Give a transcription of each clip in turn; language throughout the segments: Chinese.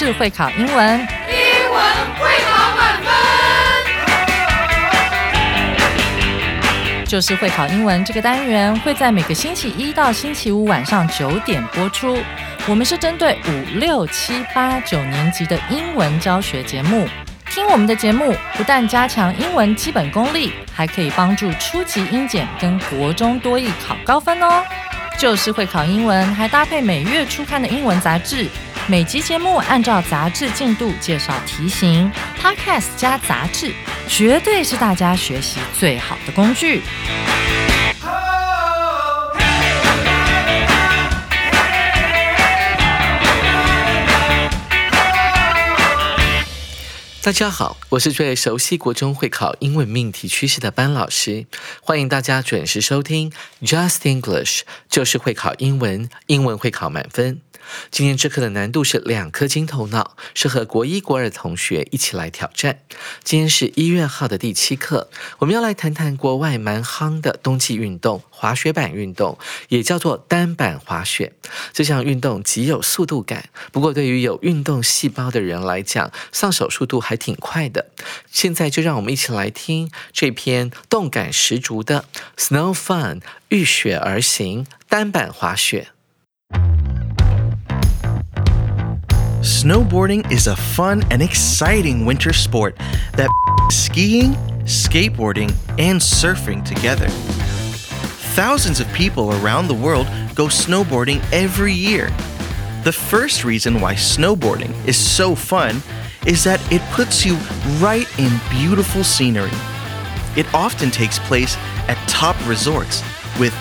就是会考英文， 英文会考满分。 就是会考英文这个单元会在每个星期一到星期五晚上9点播出。我们是针对5、6、7、8、9年级的英文教学节目。听我们的节目，不但加强英文基本功力，还可以帮助初级英检跟国中多益考高分哦。就是会考英文，还搭配每月初刊的英文杂志。每集节目按照杂志进度介绍题型 ，Podcast 加杂志，绝对是大家学习最好的工具。 大家好，我是最熟悉国中会考英文命题趋势的班老师，欢迎大家准时收听 Just English， 就是会考英文，英文会考满分。今天这课的难度是2颗金头脑，适合国1、国2的同学一起来挑战。今天是1月号的第7课，我们要来谈谈国外蛮夯的冬季运动——滑雪板运动，也叫做单板滑雪。这项运动极有速度感，不过对于有运动细胞的人来讲，上手速度还挺快的。现在就让我们一起来听这篇动感十足的 Snow Fun 遇雪而行单板滑雪。 Snowboarding is a fun and exciting winter sport that skiing, skateboarding, and surfing together. Thousands of people around the world go snowboarding every year. The first reason why snowboarding is so fun is that it puts you right in beautiful scenery. It often takes place at top resorts with.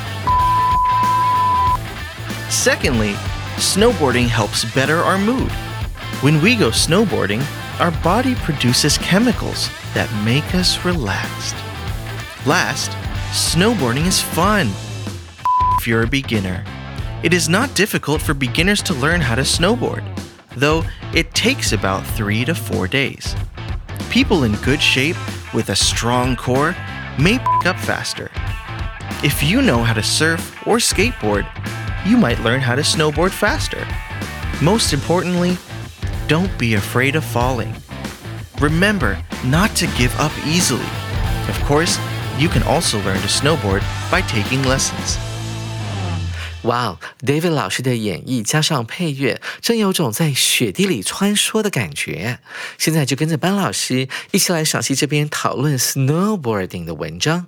Secondly, snowboarding helps better our mood.When we go snowboarding, our body produces chemicals that make us relaxed. Last, snowboarding is fun. If you're a beginner, it is not difficult for beginners to learn how to snowboard, though it takes about 3 to 4 days. People in good shape with a strong core may pick up faster. If you know how to surf or skateboard, you might learn how to snowboard faster. Most importantly,Don't be afraid of falling. Remember not to give up easily. Of course, you can also learn to snowboard by taking lessons. 哇 David 老师的演绎加上配乐，真有种在雪地里穿梭的感觉。现在就跟着班老师一起来赏析这篇讨论 snowboarding 的文章。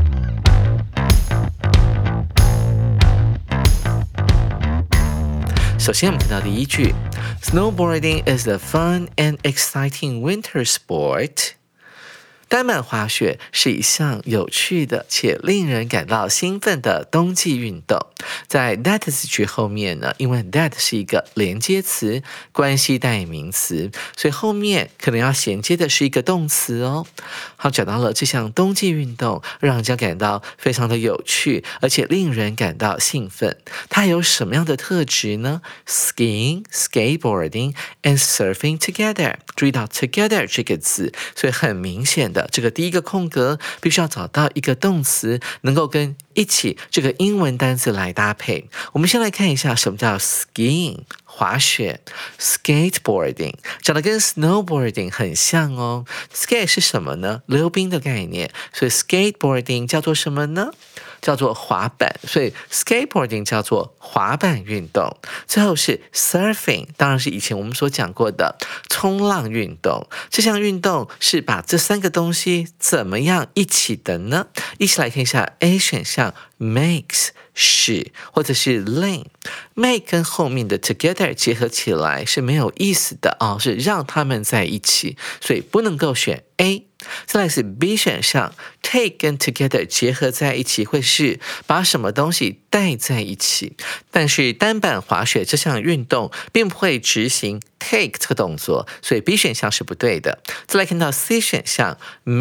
首先我们看到第一句 Snowboarding is a fun and exciting winter sport. 单板滑雪是一项有趣的且令人感到兴奋的冬季运动。在 that 字句后面呢，因为 that 是一个连接词，关系代名词，所以后面可能要衔接的是一个动词哦。好，讲到了这项冬季运动，让人家感到非常的有趣，而且令人感到兴奋。它有什么样的特质呢？ Skiing, skateboarding and surfing together. 注意到 together 这个字，所以很明显的这个第一个空格必须要找到一个动词能够跟一起这个英文单词来搭配。我们先来看一下什么叫 skiing 滑雪， skateboarding 长得跟 snowboarding 很像哦。 skate 是什么呢？溜冰的概念，所以 skateboarding 叫做什么呢？叫做滑板，所以 skateboarding 叫做滑板运动。最后是 surfing， 当然是以前我们所讲过的冲浪运动。这项运动是把这3个东西怎么样一起的呢？一起来看一下 A 选项 makes 是，或者是 link。make 跟后面的 together 结合起来是没有意思的哦，是让他们在一起，所以不能够选 A。再来是 B 选项 take 跟 together 结合在一起会是把什么东西带在一起，但是单板滑雪这项运动并不会执行 take 这个动作，所以 B 选项是不对的。再来看到 C 选项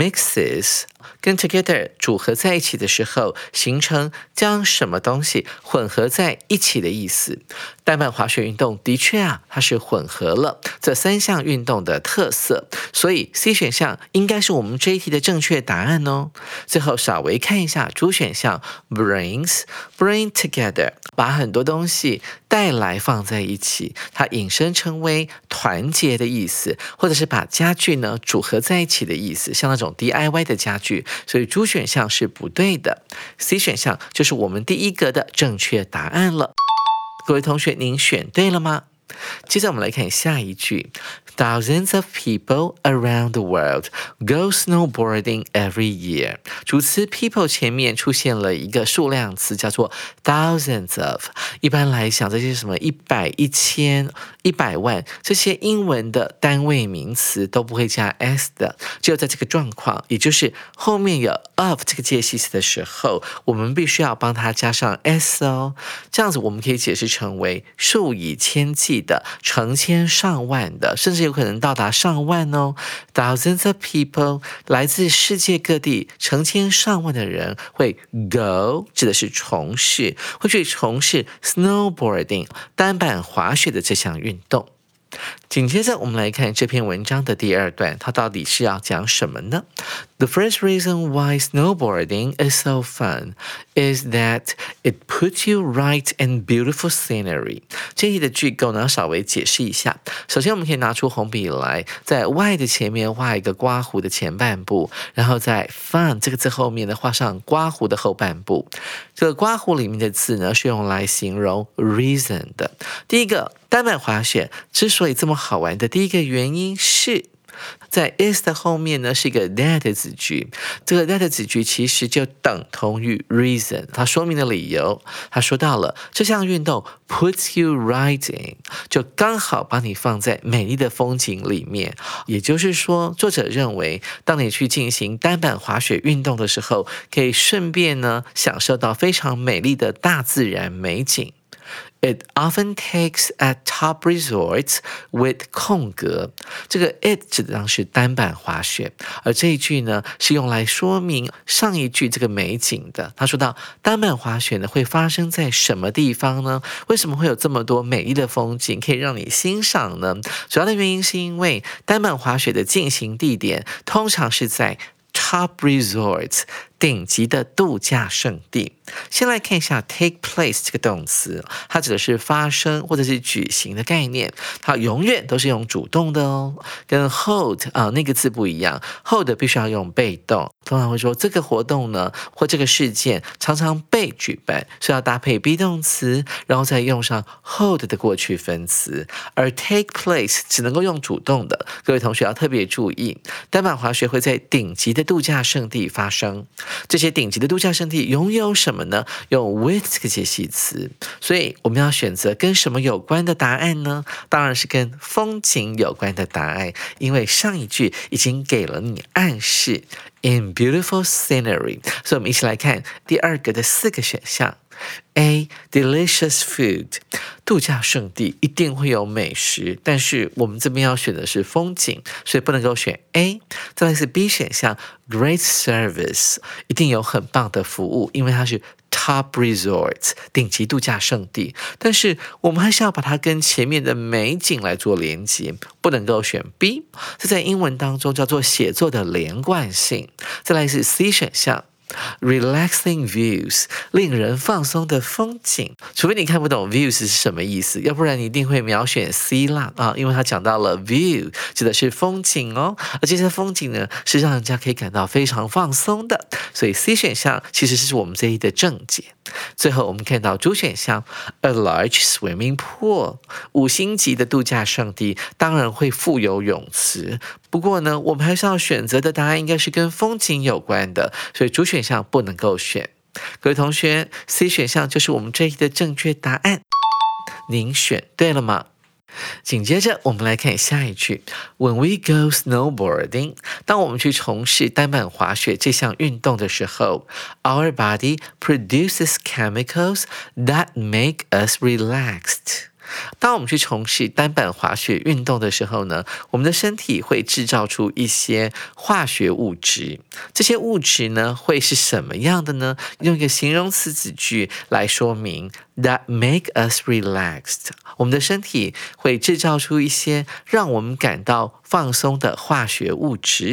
mixes 跟 together 组合在一起的时候，形成将什么东西混合在一起的意思。单板滑雪运动的确啊，它是混合了这3项运动的特色，所以 C 选项应该是我们这一题的正确答案哦。最后稍微看一下主选项 bring together， 把很多东西带来放在一起，它引申成为团结的意思，或者是把家具呢组合在一起的意思，像那种 DIY 的家具。所以猪选项是不对的， C 选项就是我们第一格的正确答案了。各位同学，您选对了吗？接着我们来看下一句 Thousands of people around the world go snowboarding every year 主词 people 前面出现了一个数量词叫做 thousands of 一般来讲这些什么100、1000、100万这些英文的单位名词都不会加 s 的，只有在这个状况，也就是后面有 of 这个介系词的时候，我们必须要帮它加上 s 哦，这样子我们可以解释成为数以千计的、成千上万的，甚至有可能到达上万哦。Thousands of people 来自世界各地，成千上万的人会 go 指的是从事，会去从事 snowboarding 单板滑雪的这项运动。紧接着我们来看这篇文章的第二段，它到底是要讲什么呢？ The first reason why snowboarding is so fun is that it puts you right in beautiful scenery 这一题的句构呢稍微解释一下。首先我们可以拿出红笔来，在 y 的前面画一个刮胡的前半部，然后在 fun 这个字后面呢画上刮胡的后半部。这个刮胡里面的字呢是用来形容 reason 的。第一个，单板滑雪之所以这么好玩的第一个原因是在 is 的后面呢是一个 that 子句，这个 that 子句其实就等同于 reason， 它说明的理由，它说到了这项运动 puts you right in 就刚好把你放在美丽的风景里面，也就是说作者认为当你去进行单板滑雪运动的时候，可以顺便呢享受到非常美丽的大自然美景。It often takes at top resorts with 空格，这个 it 指的上是单板滑雪，而这一句呢是用来说明上一句这个美景的。他说到单板滑雪呢会发生在什么地方呢？为什么会有这么多美丽的风景可以让你欣赏呢？主要的原因是因为单板滑雪的进行地点通常是在 top resorts 顶级的度假胜地。先来看一下 take place 这个动词，它指的是发生或者是举行的概念，它永远都是用主动的哦，跟 hold 那个字不一样， hold 必须要用被动，通常会说这个活动呢或这个事件常常被举办，是要搭配 be 动词，然后再用上 hold 的过去分词，而 take place 只能够用主动的，各位同学要特别注意，单板滑雪会在顶级的度假胜地发生，这些顶级的度假胜地拥有什么呢？用 with 这个介系词，所以我们要选择跟什么有关的答案呢？当然是跟风景有关的答案，因为上一句已经给了你暗示 in beautiful scenery， 所以我们一起来看第二个的4个选项。A. Delicious food 度假胜地一定会有美食，但是我们这边要选的是风景，所以不能够选 A。 再来是 B 选项 Great service 一定有很棒的服务，因为它是 Top resorts 顶级度假胜地，但是我们还是要把它跟前面的美景来做连接，不能够选 B， 这在英文当中叫做写作的连贯性。再来是 C 选项Relaxing views 令人放松的风景，除非你看不懂 views 是什么意思，要不然你一定会秒选 C 啦因为它讲到了 view 指的是风景哦，而这些风景呢是让人家可以感到非常放松的，所以 C 选项其实是我们这一的正解。最后我们看到主选项 A large swimming pool 5星级的度假胜地当然会附有泳池，不过呢我们还是要选择的答案应该是跟风景有关的，所以主选项不能够选。各位同学 C 选项就是我们这一题的正确答案，您选对了吗？紧接着我们来看下一句 When we go snowboarding 当我们去从事单板滑雪这项运动的时候 Our body produces chemicals that make us relaxed当我们去从事单板滑雪运动的时候呢，我们的身体会制造出一些化学物质，这些物质呢会是什么样的呢？用一个形容词子句来说明 that make us relaxed 我们的身体会制造出一些让我们感到放松的化学物质。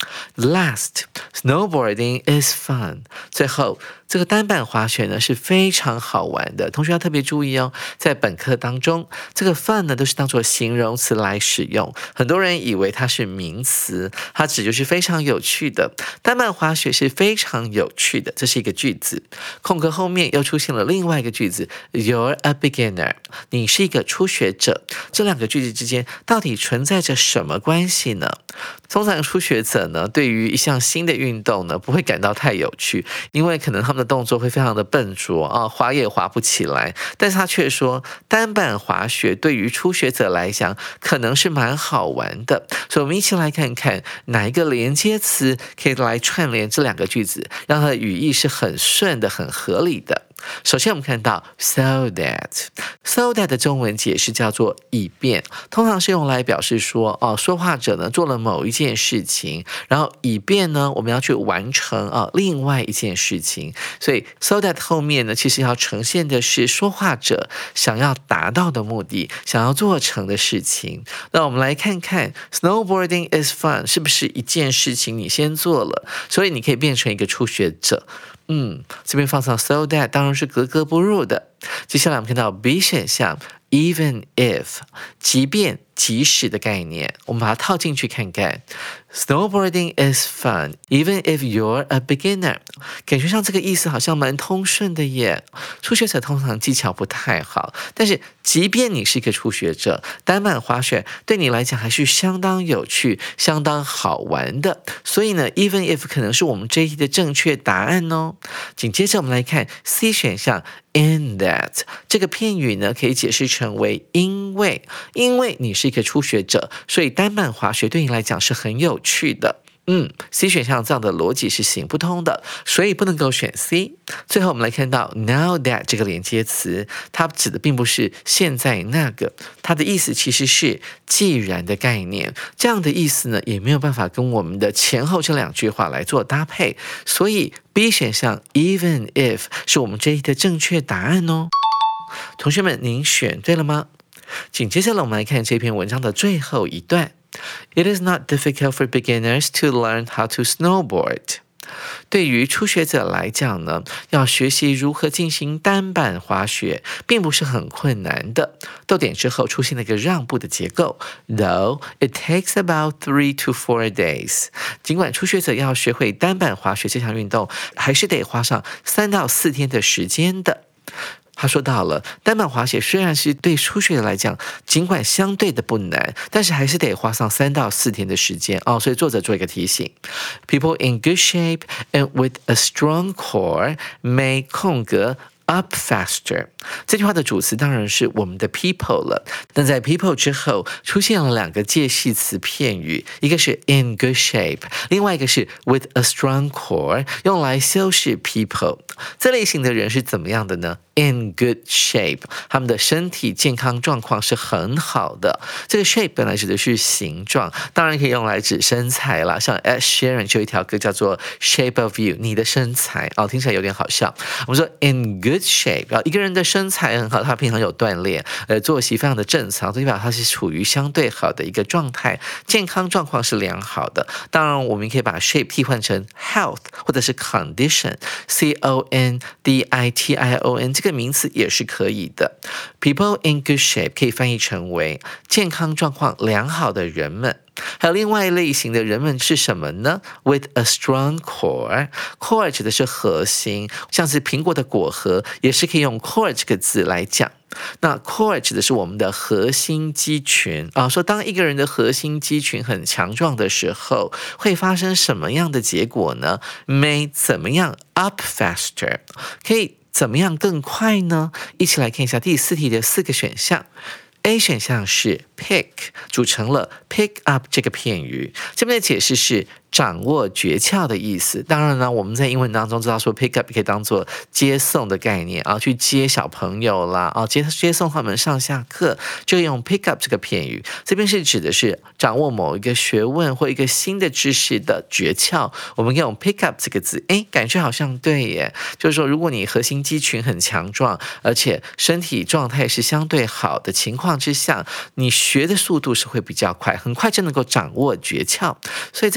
Last, snowboarding is fun. 最后，这个单板滑雪呢是非常好玩的，同学要特别注意哦。在本课当中，这个 fun 呢都是当作形容词来使用，很多人以为它是名词，它指就是非常有趣的。单板滑雪是非常有趣的，这是一个句子。空格后面又出现了另外一个句子 ，You're a beginner. 你是一个初学者。这两个句子之间到底存在着什么关系呢？通常初学者呢，对于一项新的运动呢，不会感到太有趣，因为可能他们的动作会非常的笨拙啊，滑也滑不起来。但是他却说，单板滑雪对于初学者来讲，可能是蛮好玩的。所以我们一起来看看哪一个连接词可以来串联这两个句子，让它的语义是很顺的、很合理的。首先我们看到 so that 的中文解释叫做以便，通常是用来表示说说话者呢做了某一件事情，然后以便呢我们要去完成另外一件事情，所以 so that 后面呢其实要呈现的是说话者想要达到的目的，想要做成的事情。那我们来看看 snowboarding is fun 是不是一件事情你先做了，所以你可以变成一个初学者。这边放上 so that 当然是格格不入的。接下来我们看到 B 选项 even if 即便即使的概念，我们把它套进去看看。Snowboarding is fun, even if you're a beginner. 感觉上这个意思好像蛮通顺的耶。初学者通常技巧不太好，但是即便你是一个初学者，单板滑雪对你来讲还是相当有趣、相当好玩的。所以呢 ，even if 可能是我们这一题的正确答案哦。紧接着我们来看 C 选项。In that 这个片语呢，可以解释成为因为你是一个初学者，所以单板滑雪对你来讲是很有趣的。C 选项这样的逻辑是行不通的，所以不能够选 C。最后我们来看到 now that 这个连接词，它指的并不是现在那个，它的意思其实是既然的概念。这样的意思呢，也没有办法跟我们的前后这两句话来做搭配，所以 B 选项 even if 是我们这一题的正确答案哦。同学们，您选对了吗？紧接着我们来看这篇文章的最后一段。It is not difficult for beginners to learn how to snowboard. 对于初学者来讲呢，要学习如何进行单板滑雪，并不是很困难的。逗点之后出现了一个让步的结构 ，Though it takes about 3 to 4 days. 尽管初学者要学会单板滑雪这项运动，还是得花上3到4天的时间的。他说到了，单板滑雪虽然是对初学者来讲，尽管相对的不难，但是还是得花上3到4天的时间所以作者做一个提醒 ：People in good shape and with a strong core may 空格。Up faster 这句话的主词当然是我们的 people 了，但在 people 之后出现了2个介系词片语，一个是 in good shape， 另外一个是 with a strong core， 用来修饰 people。这类型的人是怎么样的呢？In good shape， 他们的身体健康状况是很好的。这个 shape 本来指的是形状，当然可以用来指身材啦。像 Ed Sheeran 就有一条歌叫做 Shape of You， 你的身材听起来有点好笑。我们说 in good shape， 一个人的身材很好，他平常有锻炼，作息非常的正常，代表他是处于相对好的一个状态，健康状况是良好的。当然，我们可以把 shape 替换成 health 或者是 condition，C-O-N-D-I-T-I-O-N 这个名词也是可以的。People in good shape 可以翻译成为健康状况良好的人们。还有另外一类型的人们是什么呢？ With a strong core， core 指的是核心，像是苹果的果核也是可以用 core 这个字来讲。那 core 指的是我们的核心肌群说当一个人的核心肌群很强壮的时候，会发生什么样的结果呢？ May 怎么样 up faster， 可以怎么样更快呢？一起来看一下第4题的4个选项。A 选项是 pick， 组成了 pick up 这个片语，这边的解释是掌握诀窍的意思。当然呢，我们在英文当中知道说 pick up 可以当做接送的概念去接小朋友啦接送他们上下课，就用 pick up 这个片语。这边是指的是掌握某一个学问或一个新的知识的诀窍，我们可以用 pick up 这个字。感觉好像对耶，就是说如果你核心肌群很强壮，而且身体状态是相对好的情况之下，你学的速度是会比较快，很快就能够掌握诀窍。所以这个 pick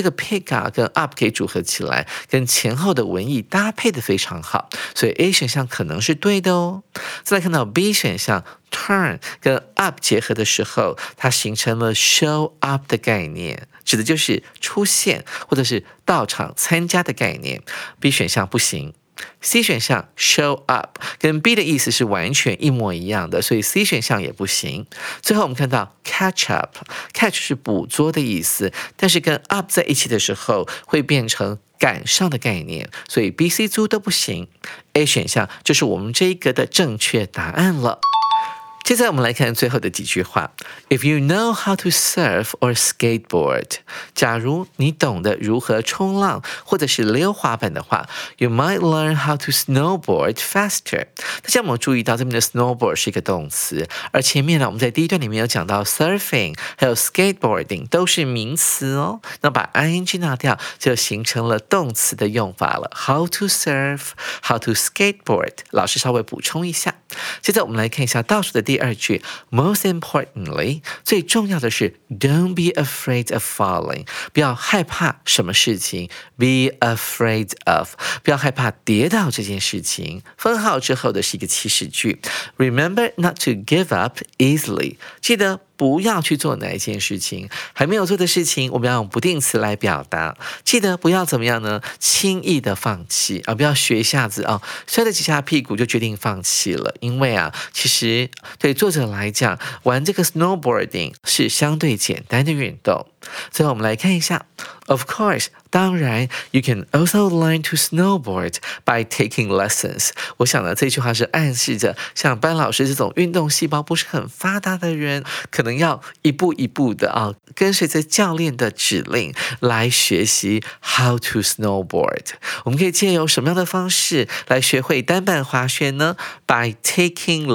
take 跟 up 可以组合起来，跟前后的文意搭配的非常好，所以 A 选项可能是对的哦。再来看到 B 选项 turn 跟 up 结合的时候，它形成了 show up 的概念，指的就是出现或者是到场参加的概念。B 选项不行。C 选项 show up 跟 B 的意思是完全一模一样的，所以 C 选项也不行。最后我们看到 catch up， catch 是捕捉的意思，但是跟 up 在一起的时候会变成赶上的概念，所以 B、C 租都不行。A 选项就是我们这一格的正确答案了。接下来我们来看最后的几句话。If you know how to surf or skateboard， 假如你懂得如何冲浪或者是溜滑板的话 ，you might learn how to snowboard faster。大家有没有注意到这边的 snowboard 是一个动词，而前面呢，我们在第一段里面有讲到 surfing 还有 skateboarding 都是名词哦。那把 ing 拿掉，就形成了动词的用法了。How to surf， how to skateboard， 老师稍微补充一下。接着我们来看一下倒数的第二句 ，Most importantly， 最重要的是 Don't be afraid of falling， 不要害怕什么事情 ，Be afraid of， 不要害怕跌倒这件事情。分号之后的是一个祈使句 ，Remember not to give up easily， 记得不要去做哪一件事情，还没有做的事情，我们要用不定词来表达。记得不要怎么样呢？轻易的放弃啊！不要学一下子啊，摔了几下屁股就决定放弃了。因为啊，其实对作者来讲，玩这个 snowboarding 是相对简单的运动。最后我们来看一下 ，Of course， 当然 ，you can also learn to snowboard by taking lessons。我想呢，这句话是暗示着，像班老师这种运动细胞不是很发达的人，可能要一步一步的啊，跟随着教练的指令来学习 how to snowboard。我们可以借由什么样的方式来学会单板滑雪呢 ？By taking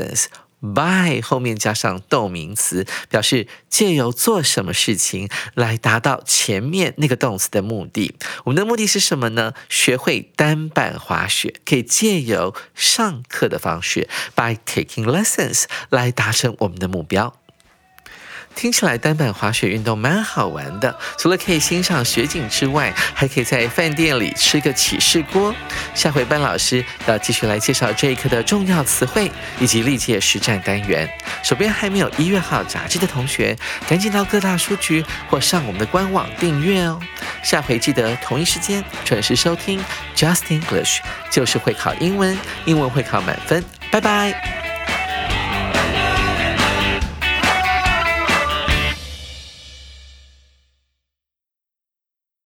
lessons。by 后面加上动名词，表示借由做什么事情来达到前面那个动词的目的。我们的目的是什么呢？学会单板滑雪，可以借由上课的方式 by taking lessons 来达成我们的目标。听起来单板滑雪运动蛮好玩的，除了可以欣赏雪景之外，还可以在饭店里吃个起司锅。下回班老师要继续来介绍这一课的重要词汇以及历届实战单元。手边还没有1月号杂志的同学，赶紧到各大书局或上我们的官网订阅哦。下回记得同一时间准时收听 Just English， 就是会考英文，英文会考满分。拜拜。